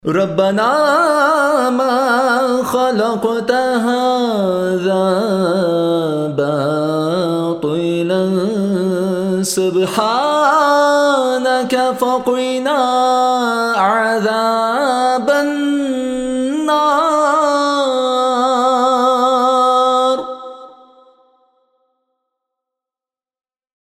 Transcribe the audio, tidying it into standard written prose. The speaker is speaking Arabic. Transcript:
ربنا ما خلقت هذا باطلا سبحانك فقنا عذاب النار.